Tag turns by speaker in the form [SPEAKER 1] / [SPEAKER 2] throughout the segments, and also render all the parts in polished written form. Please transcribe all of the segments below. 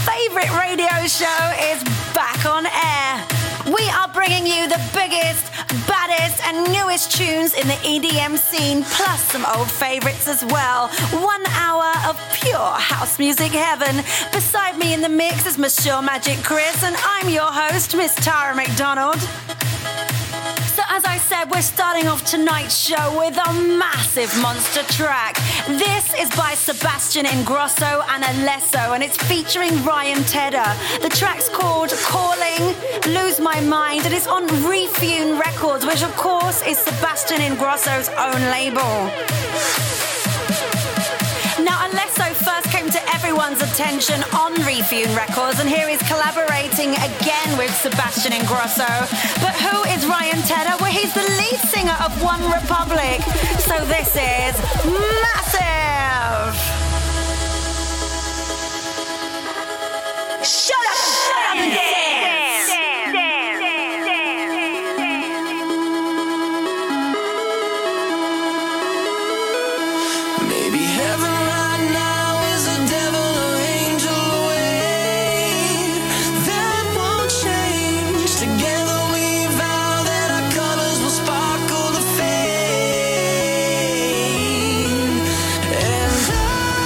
[SPEAKER 1] favourite radio show is back on air. We are bringing you the biggest, baddest and newest tunes in the EDM scene, plus some old favourites as well. 1 hour of pure house music heaven. Beside me in the mix is Monsieur Magic Chris, and I'm your host, Miss Tara McDonald. So as I said, we're starting off tonight's show with a massive monster track. This is by Sebastian Ingrosso and Alesso, and it's featuring Ryan Tedder. The track's called Calling, Lose My Mind, and it's on Refune Records, which of course is Sebastian Ingrosso's own label. Now, Alesso first came to everyone's attention on Refune Records, and here he's collaborating again with Sebastian Ingrosso. But who is Ryan Tedder? Well, he's the lead singer of One Republic. So this is massive! Shut up and dance!
[SPEAKER 2] Sparkle the fame, and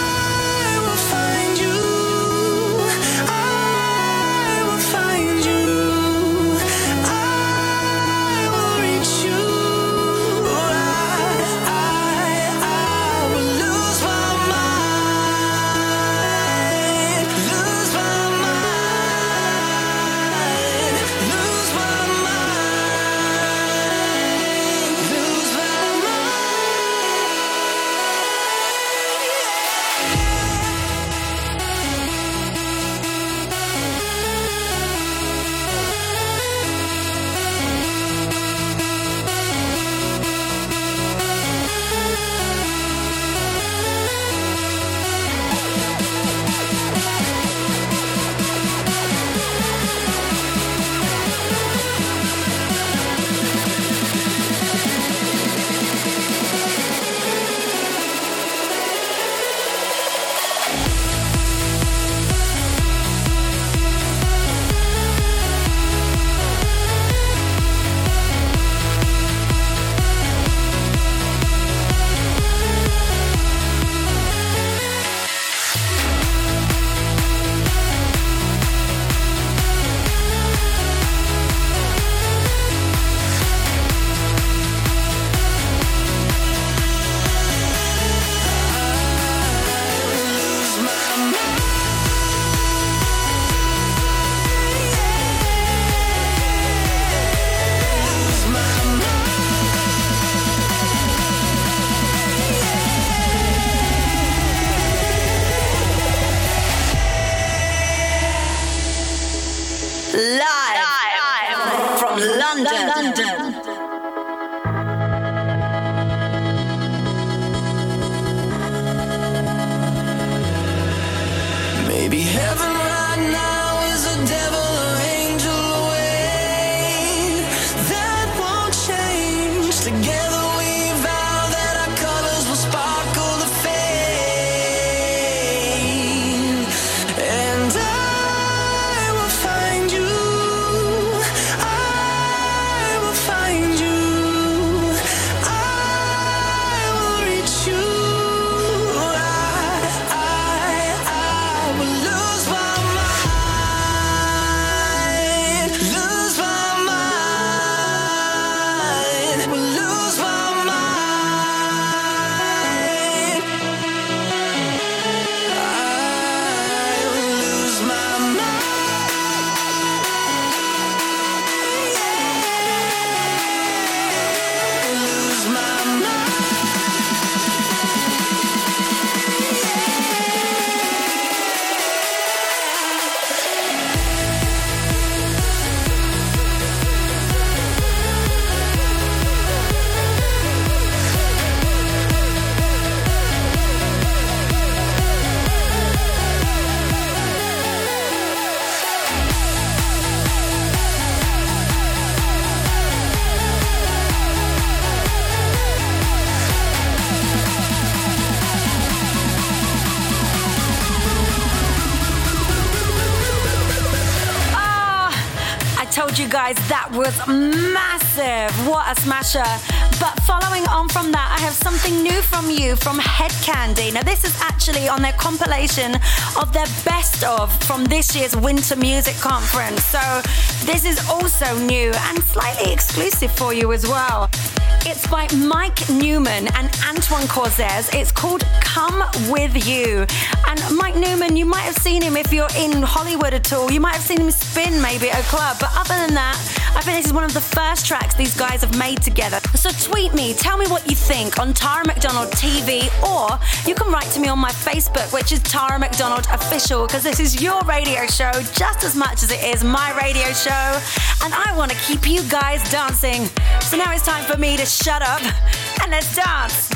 [SPEAKER 1] guys, that was massive. What a smasher. But following on from that, I have something new from you from Head Candy. Now, this is actually on their compilation of their best of from this year's Winter Music Conference. So this is also new and slightly exclusive for you as well. It's by Mike Newman and Antoine Cortez. It's called Come With You. And Mike Newman, you might have seen him if you're in Hollywood at all. You might have seen him spin maybe at a club. But other than that, I think this is one of the first tracks these guys have made together. So tweet me, tell me what you think on Tara McDonald TV, or you can write to me on my Facebook, which is Tara McDonald Official, because this is your radio show just as much as it is my radio show. And I want to keep you guys dancing. So now it's time for me to shut up and let's dance.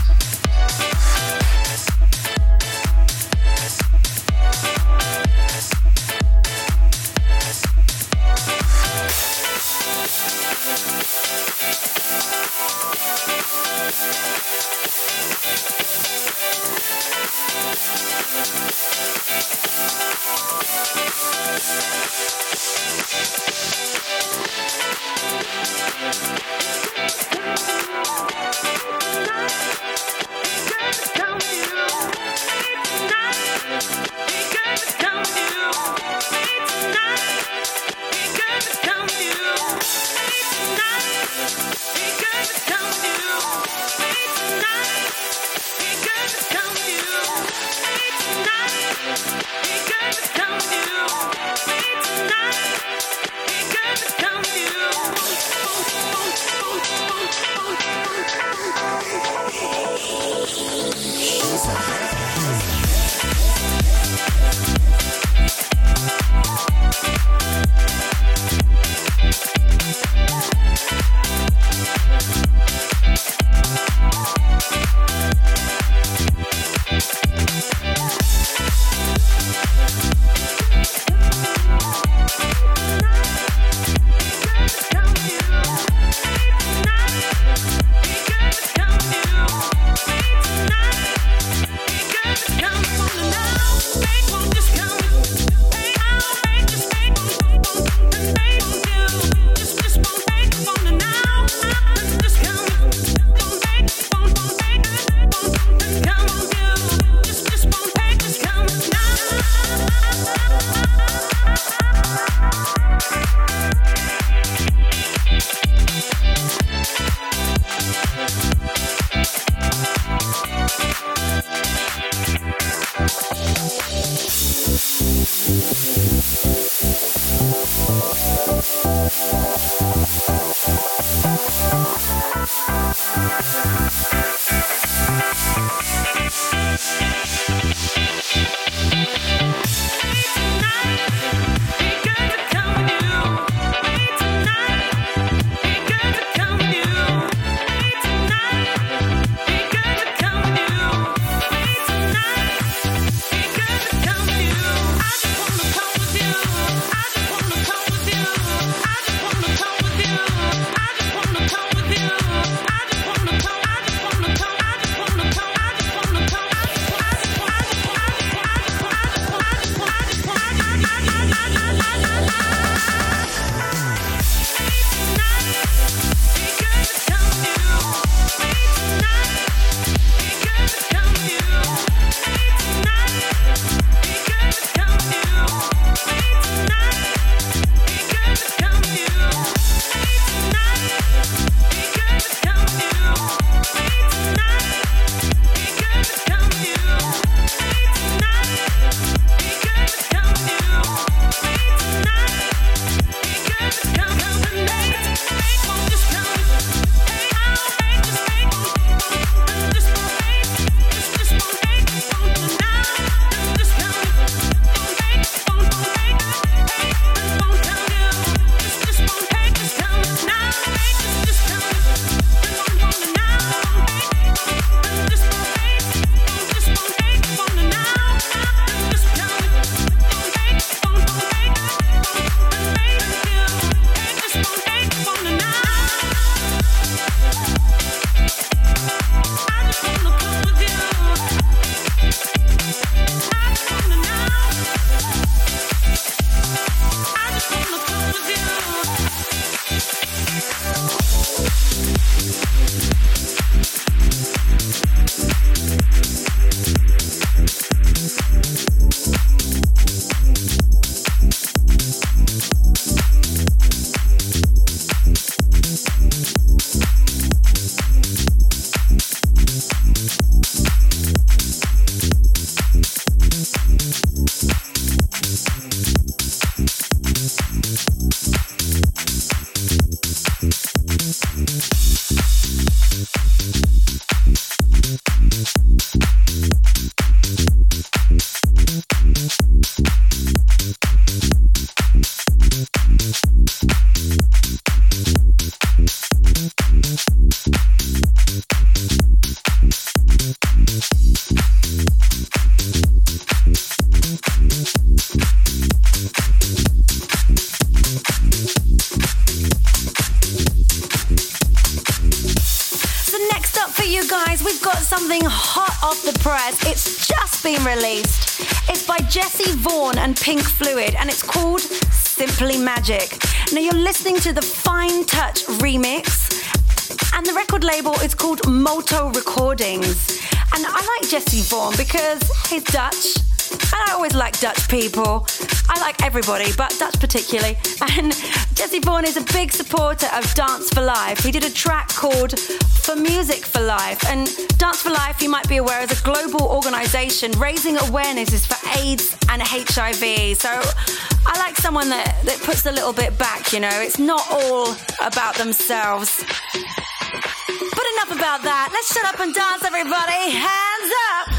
[SPEAKER 1] up for you guys, we've got something hot off the press. It's just been released. It's by Jesse Vaughan and Pink Fluid, and it's called Simply Magic. Now you're listening to the Fine Touch remix, and the record label is called Moto Recordings. And I like Jesse Vaughan because he's Dutch, and I always like Dutch people. I like everybody, but Dutch particularly. And Jesse Vaughan is a big supporter of Dance for Life. He did a track called For Music for Life. And Dance for Life, you might be aware, is a global organisation raising awarenesses for AIDS and HIV. So I like someone that puts a little bit back, you know. It's not all about themselves. But enough about that. Let's shut up and dance, everybody. Hands up!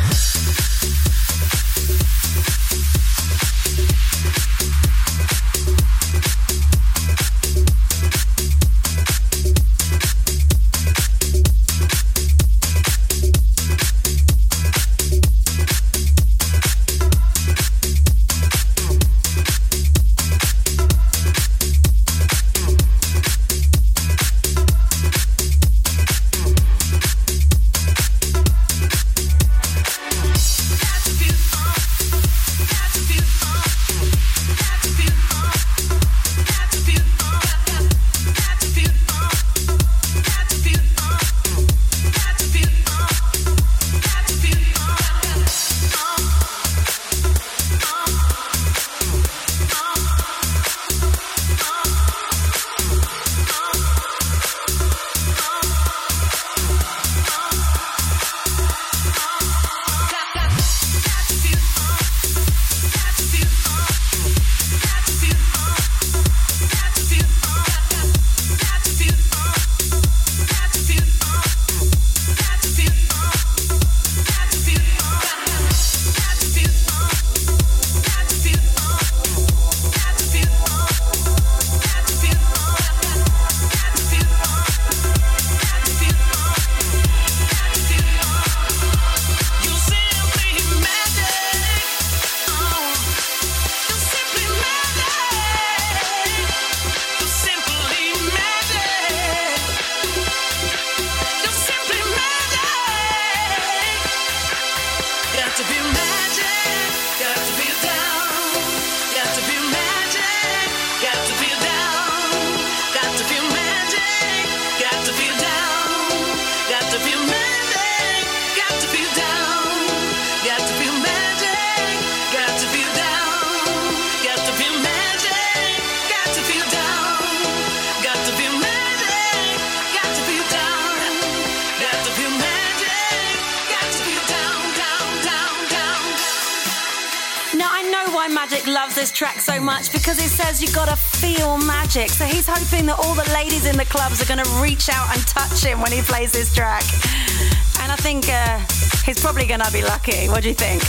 [SPEAKER 1] Loves this track so much because it says you gotta feel magic. So he's hoping that all the ladies in the clubs are gonna reach out and touch him when he plays this track. And I think he's probably gonna be lucky. What do you think?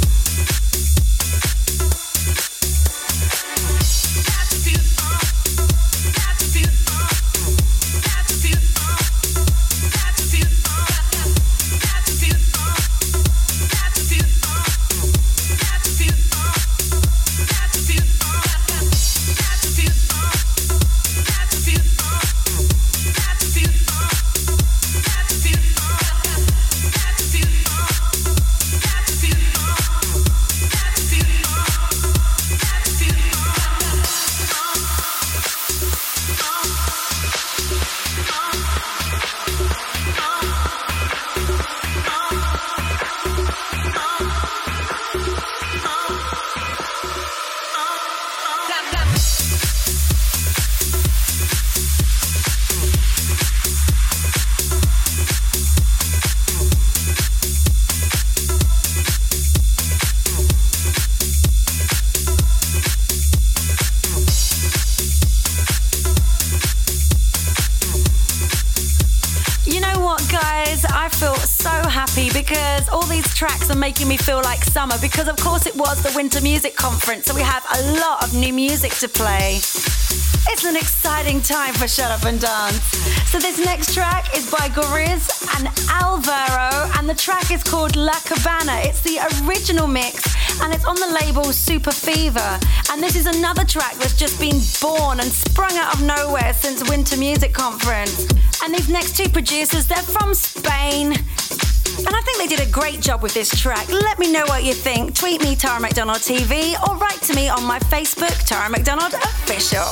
[SPEAKER 1] Because all these tracks are making me feel like summer, because of course it was the Winter Music Conference, so we have a lot of new music to play. It's an exciting time for Shut Up and Dance. So this next track is by Goriz and Alvaro, and the track is called La Cabana. It's the original mix, and it's on the label Super Fever. And this is another track that's just been born and sprung out of nowhere since Winter Music Conference. And these next two producers, they're from Spain. And I think they did a great job with this track. Let me know what you think. Tweet me, Tara McDonald TV, or write to me on my Facebook, Tara McDonald Official.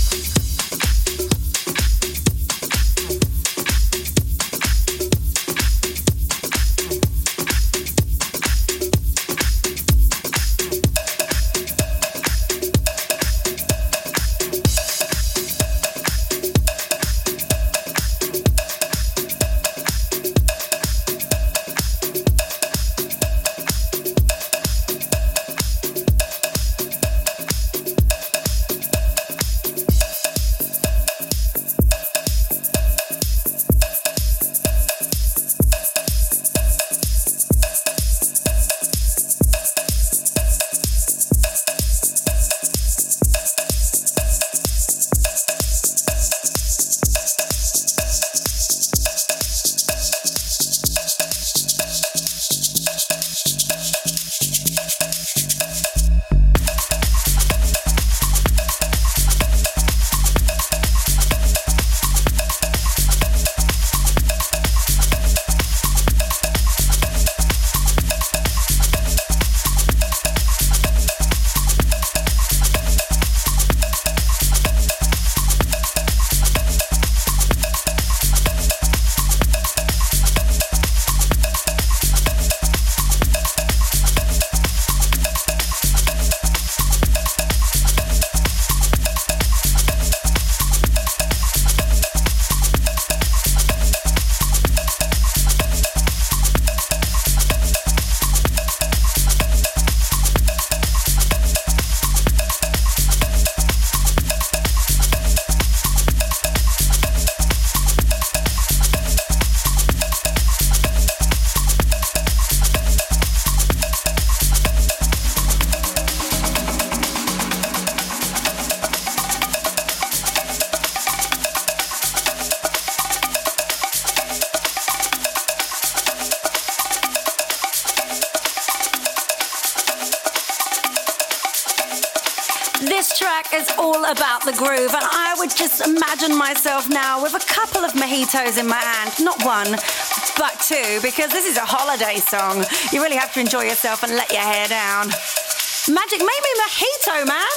[SPEAKER 1] This track is all about the groove, and I would just imagine myself now with a couple of mojitos in my hand. Not one, but two, because this is a holiday song. You really have to enjoy yourself and let your hair down. Magic made me mojito, man.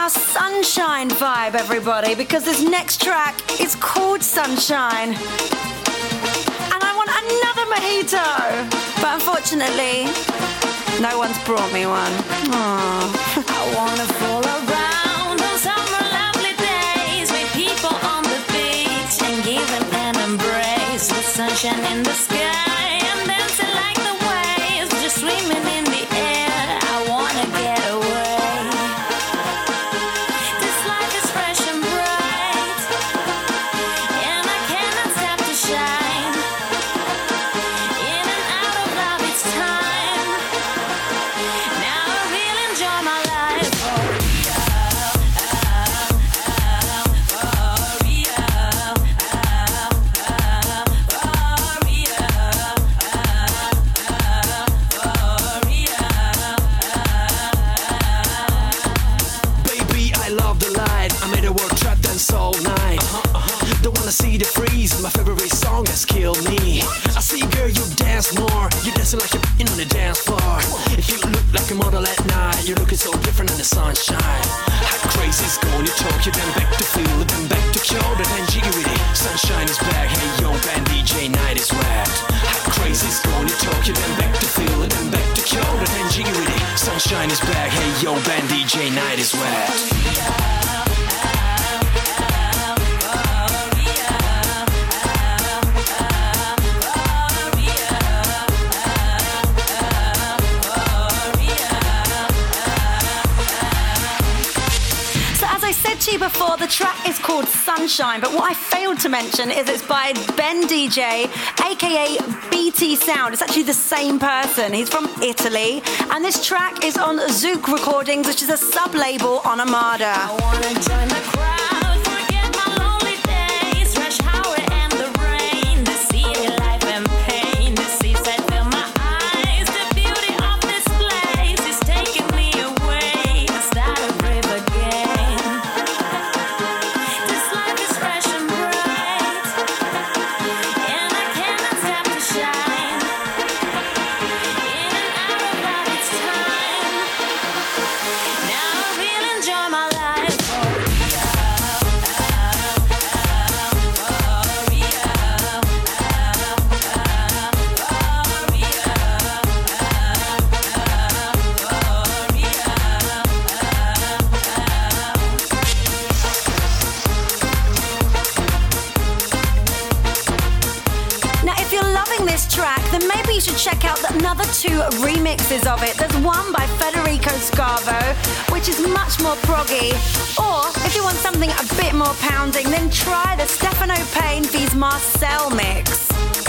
[SPEAKER 1] our Sunshine vibe, everybody, because this next track is called Sunshine. And I want another mojito. But unfortunately, no one's brought me one. Aww.
[SPEAKER 2] I wanna fool around on summer lovely days with people on the beach and give them an embrace with sunshine in the sky and dancing like the waves, just swimming in the air. I wanna get away. This life is fresh and bright, and I cannot stop to shine. In and out of love, it's time. Now I really enjoy my life.
[SPEAKER 3] Baby, I love the light. I made a world trap dance all night. Don't wanna see the freeze. My favorite song has killed me. I see, girl, you dance more. You're dancing like you're in on the dance floor. If you look like a model at night, you're looking so different in the sunshine. How crazy is going to Tokyo, then back to feel it, then back to Kyoto, then jiggy with it. Sunshine is back, hey yo, band DJ night is wrapped. How crazy is going to Tokyo, then back to feel it, then back to Kyoto, then jiggy with it. Sunshine is back, hey yo, band DJ night is wrapped.
[SPEAKER 1] To you before, the track is called Sunshine, but what I failed to mention is it's by Ben DJ, aka BT Sound. It's actually the same person. He's from Italy, and this track is on Zouk Recordings, which is a sub-label on Armada.
[SPEAKER 2] I wanna join the crowd, forget my lonely days, rush hour and the rain, the city life and pain, the seaside fill my eyes, the beauty of this place is taking me away. I start to breathe again.
[SPEAKER 1] Then maybe you should check out another two remixes of it. There's one by Federico Scavo, which is much more proggy. Or if you want something a bit more pounding, then try the Stefano Payne vs Marcel mix.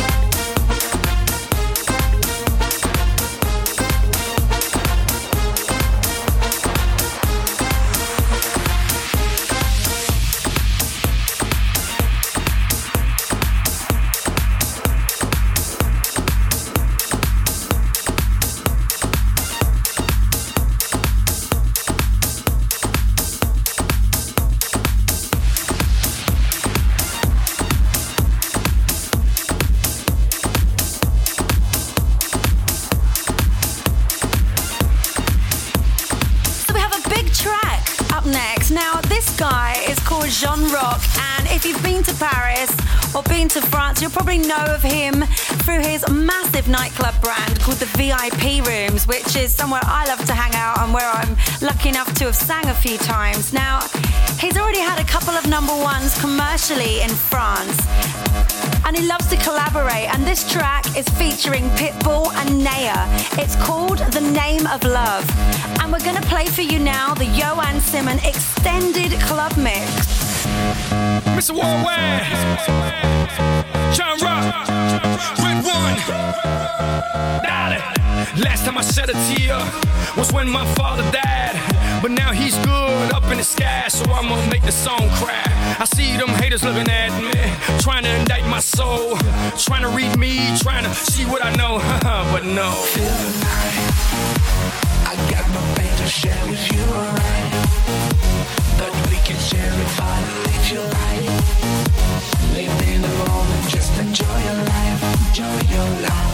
[SPEAKER 1] Now, this guy is called Jean Rock, and if you've been to Paris or been to France, you'll probably know of him through his massive nightclub brand called the VIP Rooms, which is somewhere I love to hang out and where I'm lucky enough to have sang a few times. Now, he's already had a couple of #1s commercially in France, and he loves to collaborate, and this track is featuring Pitbull and Naya. It's called The Name of Love, and we're going to play for you now the Johan Simon extended club mix.
[SPEAKER 4] Mr. Worldwide, John Rock, Red One, darling. Last time I shed a tear was when my father died, but now he's good up in the sky, so I'm gonna make the song cry. I see them haters looking at me, trying to indict my soul, trying to read me, trying to see what I know, but no.
[SPEAKER 5] Feel the night, I got my pain to share with you, alright? But we can share it finally, your life. Live in the moment, just enjoy your life, enjoy your life.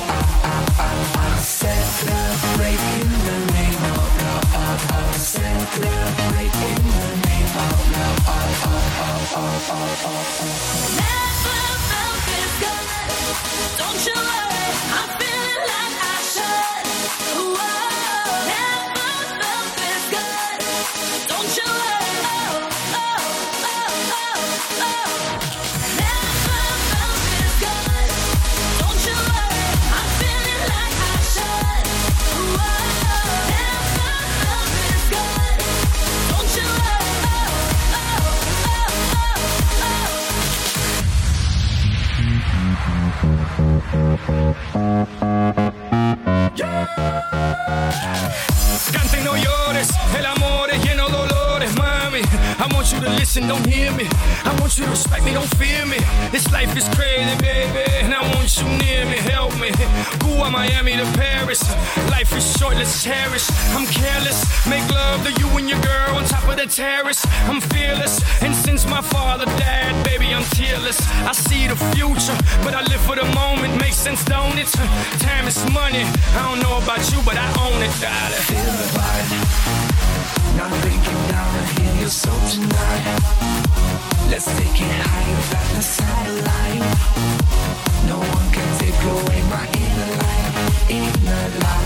[SPEAKER 5] Celebrate in the name of love. Celebrate in the
[SPEAKER 4] Cante, no llores, el amor es lleno de dolores, mami. I want you to listen, don't hear me. I want you to respect me, don't fear me. This life is crazy, baby, and I want you near me, help me. Cuba, Miami to Paris. Life is short, let's cherish. I'm careless, make love to you and your girl on top of the terrace. I'm fearless, and since my father died, baby, I'm tearless. I see the future, but I live for the moment. Makes sense, don't it? Time is money. I don't know about you, but I own it, darling.
[SPEAKER 5] Feel the vibe. Not thinking down to hear your soul tonight. Let's take it higher than the satellite. No one can take away my inner light. Inner light.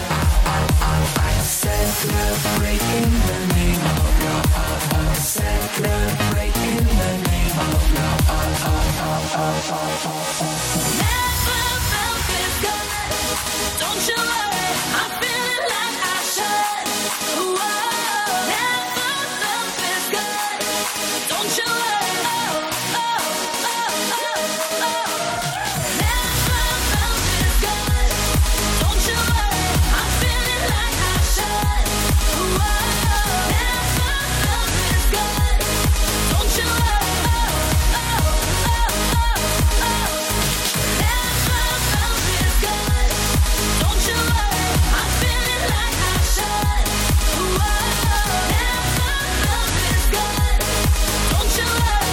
[SPEAKER 5] Celebrate in the name of love. Celebrate in the name of love.
[SPEAKER 2] Never felt this good. Don't you worry, I'm feeling like I should. Whoa. Never felt this good. Don't you worry. Oh, oh, oh, oh, oh. Never felt this good. Don't you worry, I'm feeling like I should. Whoa. Never felt this good. Don't you worry. Oh, oh, oh, oh, oh. Never felt this good. Don't you worry, I'm feeling like I should. Whoa. Never felt this good. Don't you worry.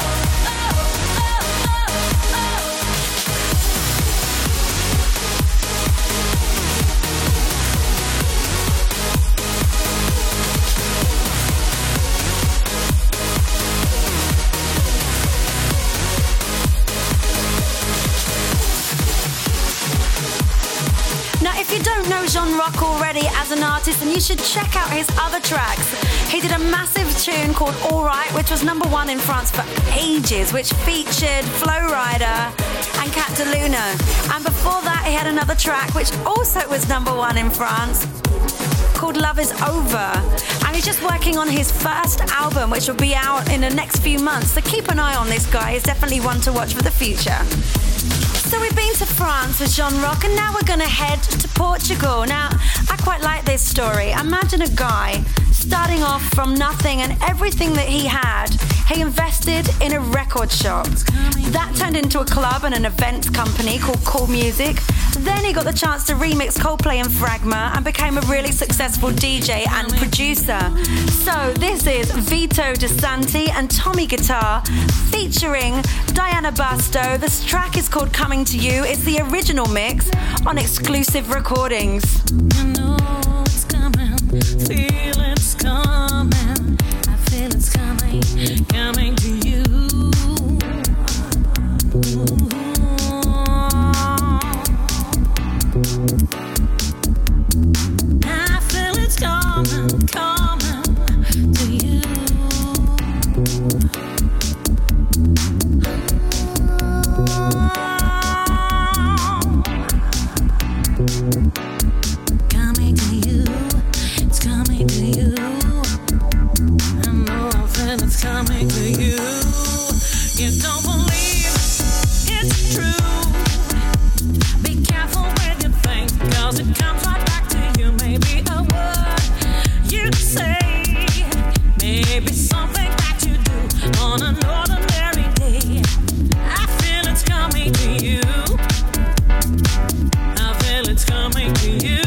[SPEAKER 1] Now, if you don't know Jean Rock already as an artist, then you should check out his other tracks. He did a massive tune called All Right, which was #1 in France for ages, which featured Flo Rida and Cat DeLuna. And before that, he had another track which also was #1 in France, called Love Is Over. And he's just working on his first album, which will be out in the next few months. So keep an eye on this guy. He's definitely one to watch for the future. So we've been to France with Jean Rock, and now we're going to head to Portugal. Now, I quite like this story. Imagine a guy starting off from nothing, and everything that he had, he invested in a record shop. That turned into a club and an events company called Cool Music. Then he got the chance to remix Coldplay and Fragma and became a really successful DJ and producer. So this is Vito De Santi and Tommy Guitar featuring Diana Basto. This track is called Coming to You. It's the original mix on Exclusive Recordings.
[SPEAKER 2] You know it's coming, feel it's coming, I feel it's coming, coming to you. I feel it's coming, coming to you. Coming to you, it's coming to you. I know I feel it's coming to you. You don't believe it's true. Be careful with your things, cause it comes right back to you. Maybe a word you say, maybe something that you do on an ordinary day. I feel it's coming to you. I feel it's coming to you.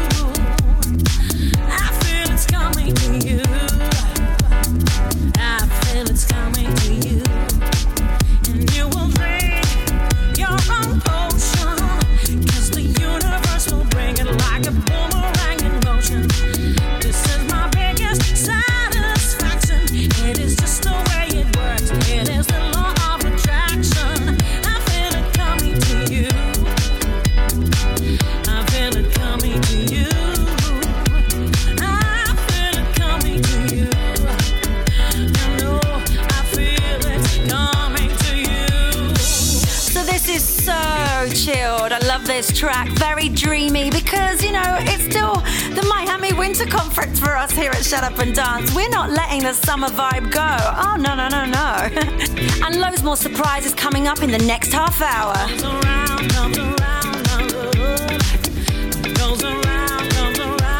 [SPEAKER 2] I feel it's coming to you. I feel it's coming to you. And you will drink your own potion, cause the universe will bring it like a boomerang in motion. This is my biggest satisfaction. It is just the way it works. It is the law of attraction. I feel it coming to you. I feel it coming to you. I feel it coming to you. You know, I feel it coming to you.
[SPEAKER 1] So this is so chilled. I love this track. Very dreamy because, you know, it's still the Miami Winter Conference for us here at Shut Up and Dance. We're not letting the summer vibe go. Oh, no, no, no, no. And loads more surprises coming up in the next half hour.
[SPEAKER 2] Comes around, my love. Goes around, comes around.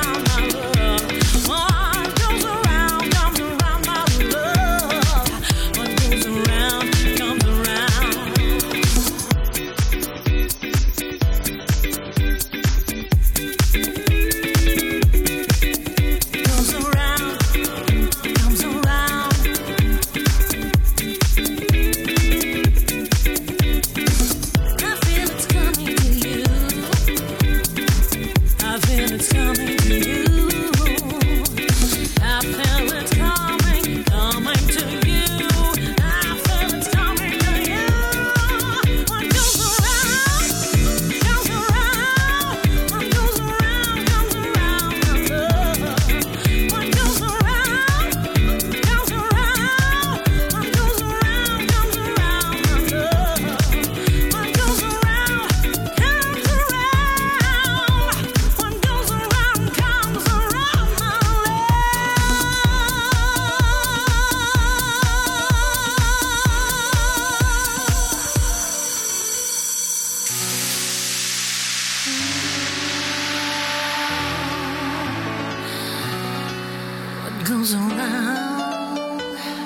[SPEAKER 2] goes around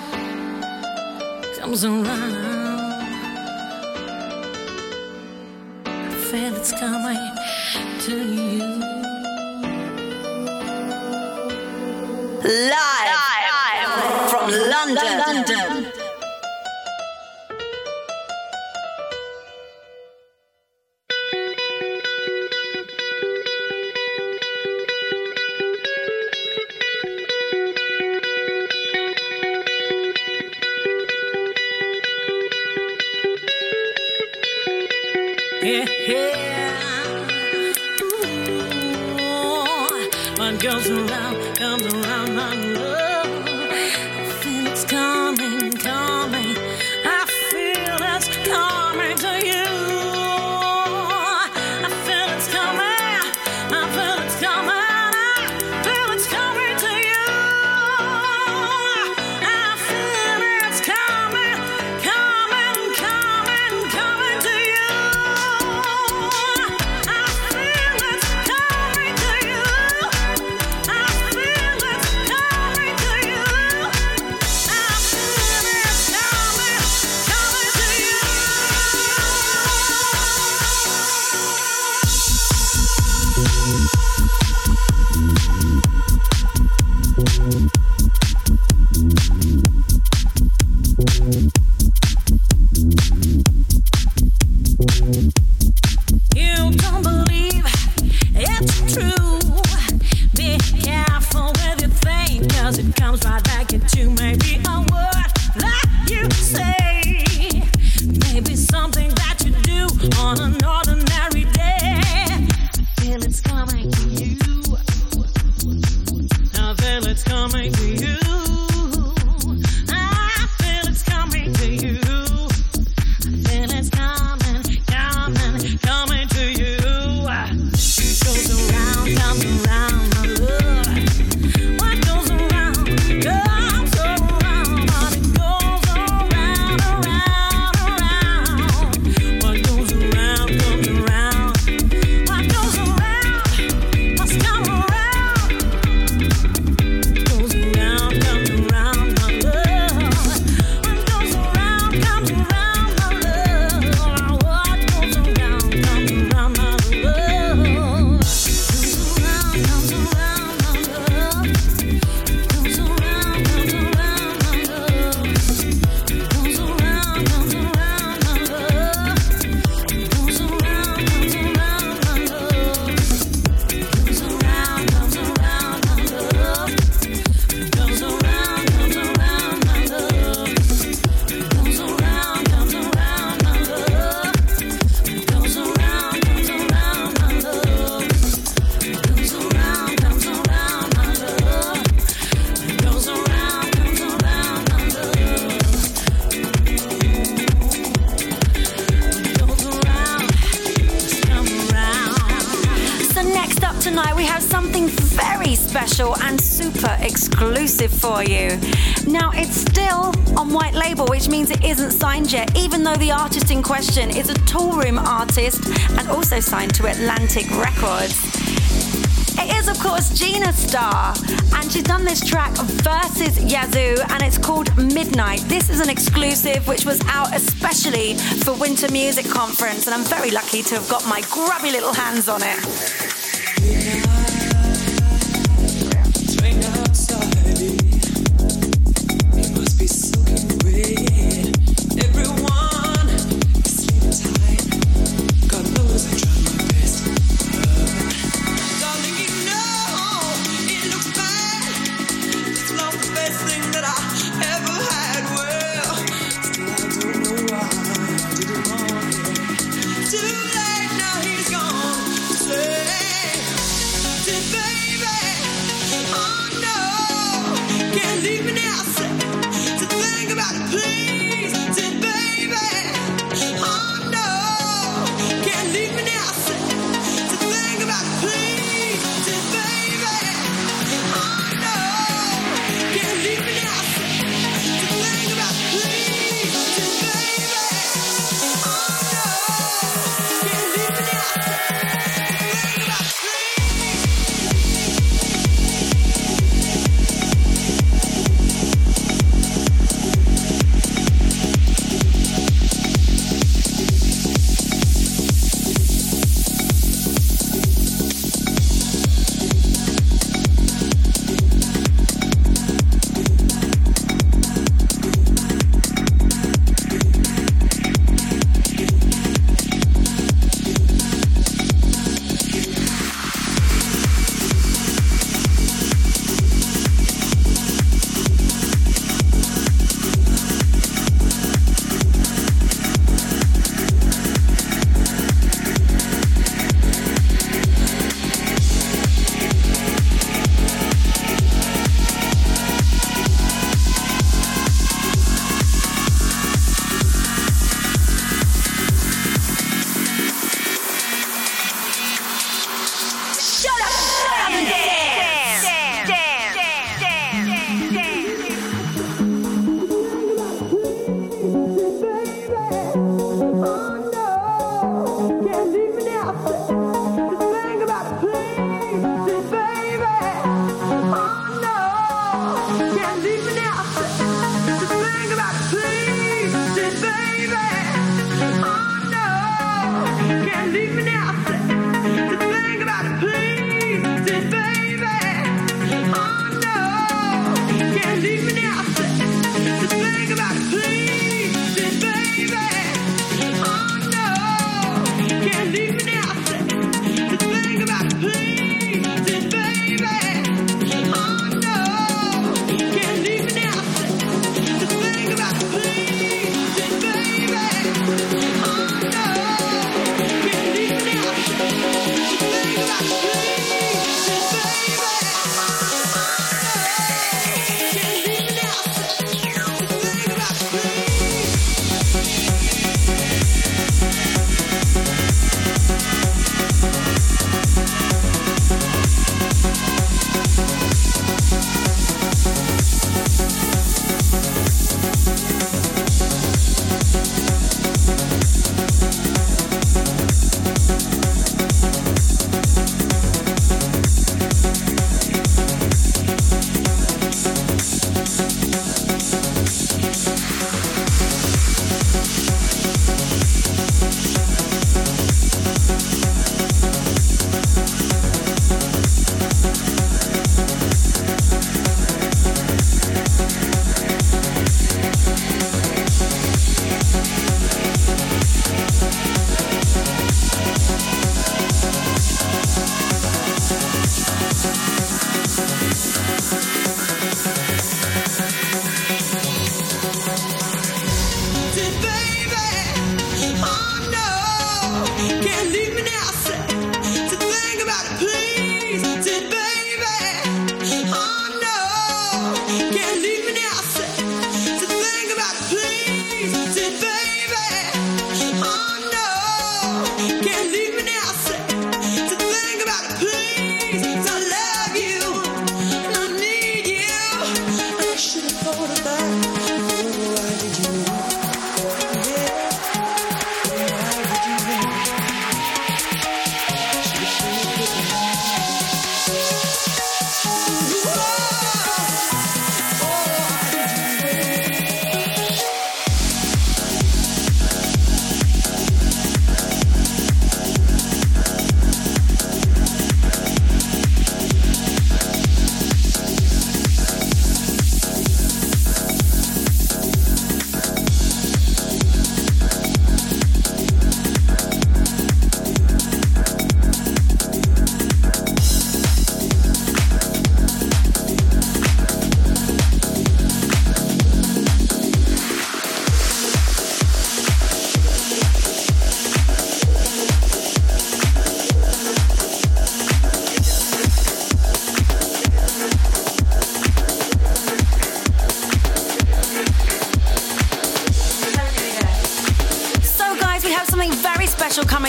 [SPEAKER 2] comes around. I feel it's coming to you.
[SPEAKER 1] Live from London.
[SPEAKER 2] Yeah, ooh, what goes around comes around, my love. I feel it's coming, coming. I feel it's coming to you. I feel it's coming. I feel it's coming. I feel it's coming to you. I feel it's coming, coming, coming, coming to you. I feel it's coming to you. I feel it's coming to you. I feel it's coming, coming to you. You don't believe it's true. Be careful with your thing, 'cause it comes right back at you. Maybe a word that you say, maybe something that you do on an ordinary day. I feel it's coming to you. I feel it's coming to you. I feel it's coming to you. I feel it's coming, coming, coming to you. It goes around, comes around, my love. What goes around, comes around, but it goes around, around, around. What goes around, comes around. What goes around, must come around. Goes around, comes around, my love. What goes around, comes around, my love. What goes around, comes around, my love. Goes around, comes around, my love. Goes around, comes around, my love. Goes around, comes around, my love. Goes around, comes around, my love. Goes around, comes around, my love. Goes around, comes around, my love. Goes around, comes around, my love. Goes around, comes around, my love. Goes around, comes around, my love. Goes around, comes around, my love. Goes around, just come around.
[SPEAKER 1] So next up tonight we have something very special and super exclusive for you. Now it's still on white label, which means it isn't signed yet, even though the artist in question is a Toolroom artist and also signed to Atlantic Records. It is, of course, Gina Starr, and she's done this track versus Yazoo, and it's called Midnight. This is an exclusive which was out especially for Winter Music Conference, and I'm very lucky to have got my grubby little hands on it.
[SPEAKER 6] Swing outside, you must be soaking wet. Everyone is sleeping tight. God knows I try my best. Darling, you know it looks bad. It's not the best thing that I ever had. Well, still I don't know why I didn't want it. Too late now, he's gone. Say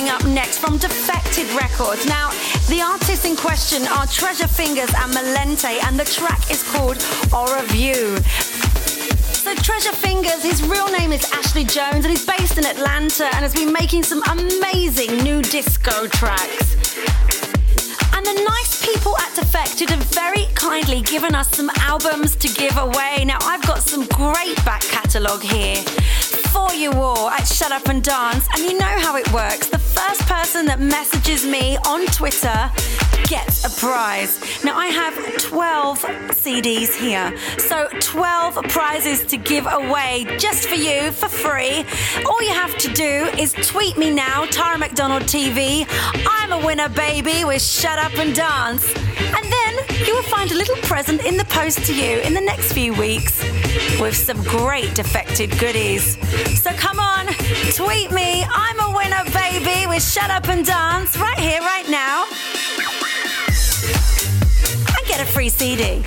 [SPEAKER 1] up next from Defected Records. Now, the artists in question are Treasure Fingers and Malente, and the track is called Aura View. So Treasure Fingers, his real name is Ashley Jones, and he's based in Atlanta and has been making some amazing new disco tracks. And the nice people at Defected have very kindly given us some albums to give away. Now, I've got some great back catalogue here for you all at Shut Up and Dance. And you know how it works. The first person that messages me on Twitter gets a prize. Now, I have 12 CDs here. So 12 prizes to give away just for you for free. All you have to do is tweet me now, Tara McDonald TV. I'm a winner, baby, with Shut Up and Dance. And then you will find a little present in the post to you in the next few weeks with some great Defected goodies. So come on, tweet me. I'm a winner, baby, with Shut Up and Dance right here, right now. And get a free CD.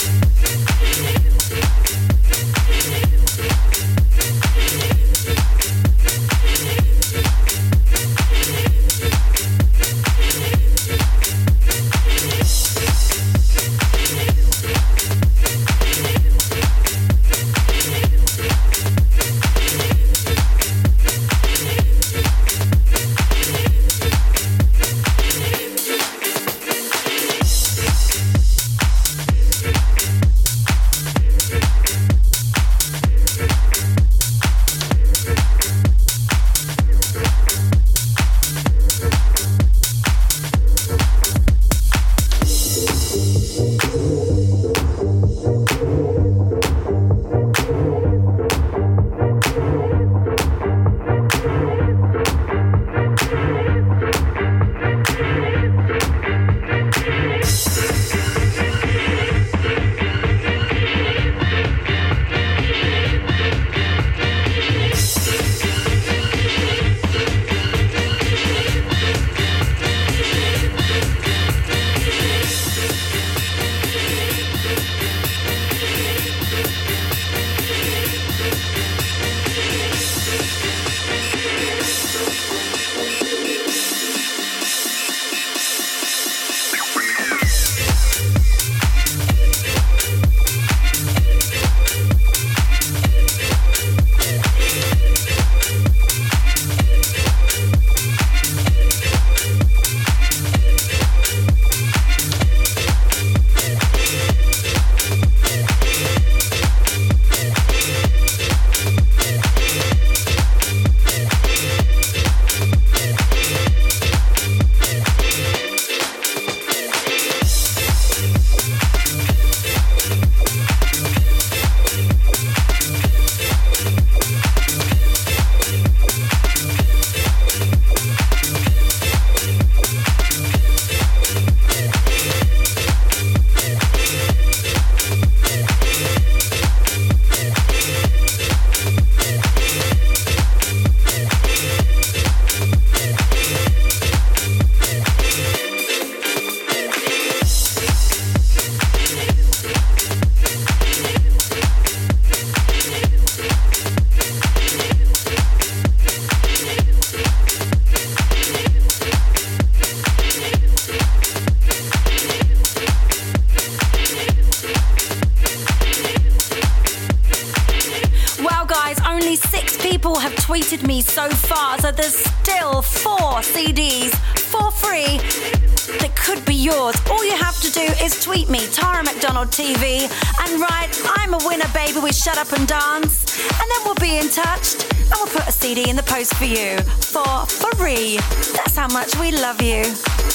[SPEAKER 1] Have tweeted me so far, so there's still 4 CDs for free that could be yours. All you have to do is tweet me, Tara McDonald TV, and write, I'm a winner, baby, with Shut Up and Dance, and then we'll be in touch and we'll put a CD in the post for you for free. That's how much we love you.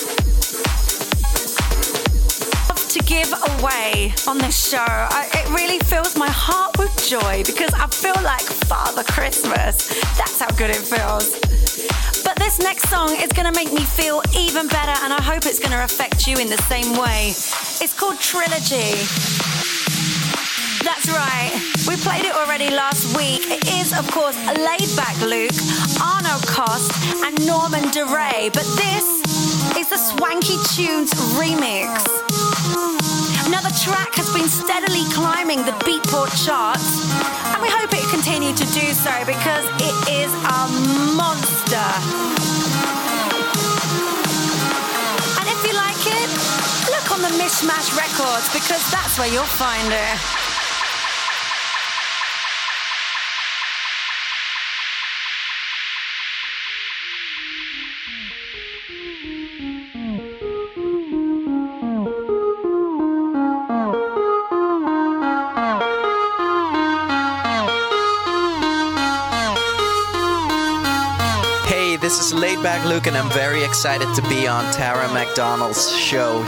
[SPEAKER 1] To give away on this show, it really fills my heart with joy because I feel like Father Christmas. That's how good it feels. But this next song is going to make me feel even better, and I hope it's going to affect you in the same way. It's called Trilogy. That's right, we played it already last week. It is, of course, Laid Back Luke, Arno Cost, and Norman DeRay. But this is the Swanky Tunes remix. Now, the track has been steadily climbing the Beatport charts, and we hope it continue to do so because it is a monster. on the Mishmash Records because that's where you'll find her.
[SPEAKER 7] This is Laidback Luke, and I'm very excited to be on Tara McDonald's show.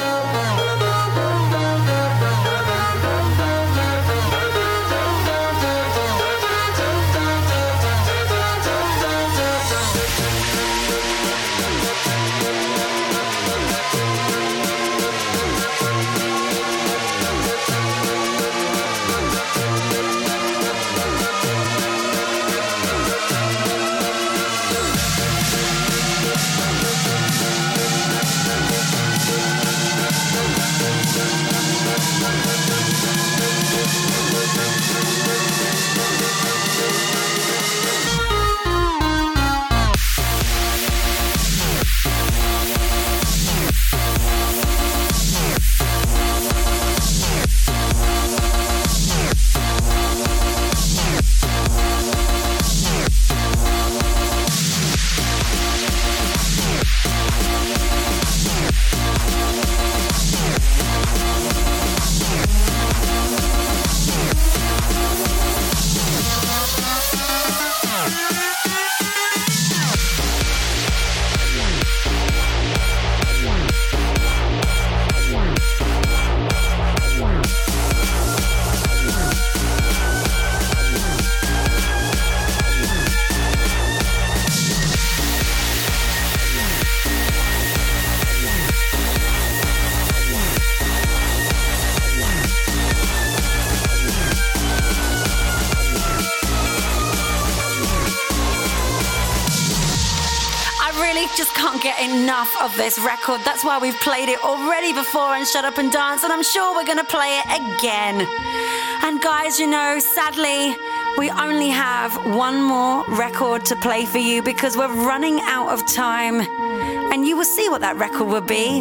[SPEAKER 1] Just can't get enough of this record. That's why we've played it already before on Shut Up and Dance, and I'm sure we're going to play it again. And guys, you know, sadly, we only have one more record to play for you because we're running out of time. And you will see what that record will be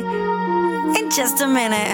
[SPEAKER 1] in just a minute.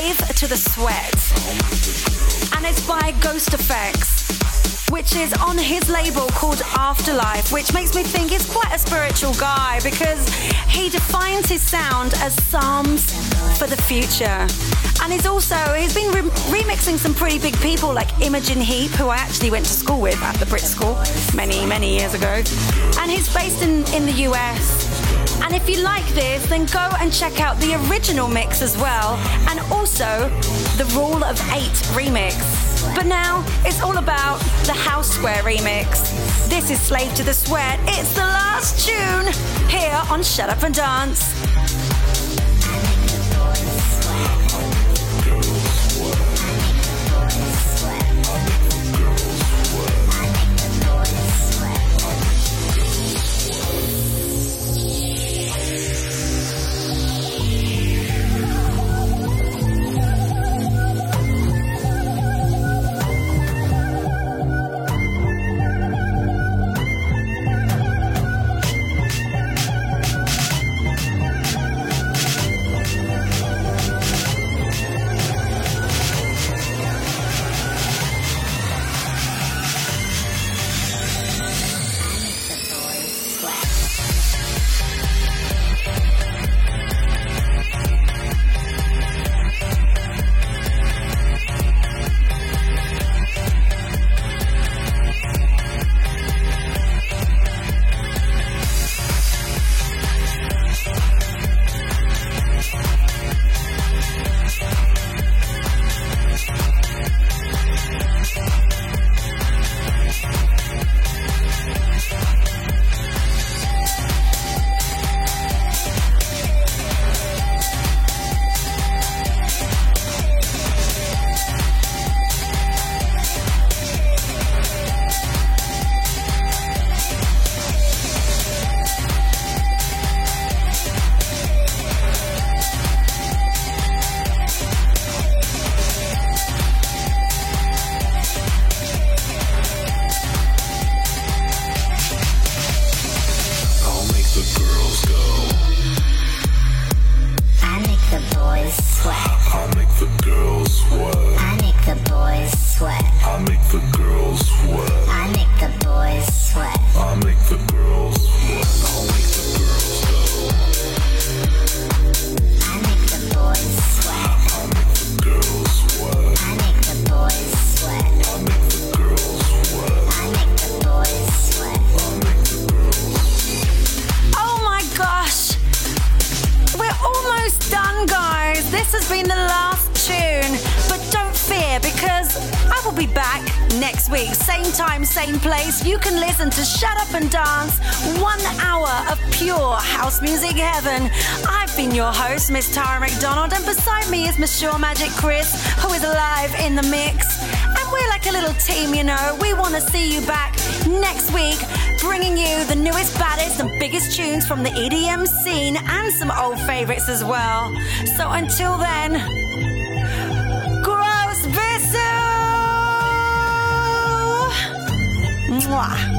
[SPEAKER 1] Slave to the Sweat. And it's by Ghost Effects, which is on his label called Afterlife, which makes me think he's quite a spiritual guy because he defines his sound as psalms for the future. And he's been remixing some pretty big people like Imogen Heap, who I actually went to school with at the Brit School many years ago. And he's based in the US. And if you like this, then go and check out the original mix as well, and also the Rule of 8 remix. But now it's all about the House Square remix. This is Slave to the Sweat. It's the last tune here on Shut Up and Dance. Same place. You can listen to Shut Up and Dance, 1 hour of pure house music heaven. I've been your host, Miss Tara McDonald, and beside me is Miss Sure Magic Chris, who is live in the mix. And we're like a little team, you know. We want to see you back next week, bringing you the newest, baddest, and biggest tunes from the EDM scene and some old favorites as well. So until then, gross Bissell! Mwah.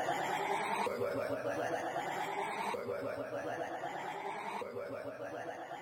[SPEAKER 1] Sweat.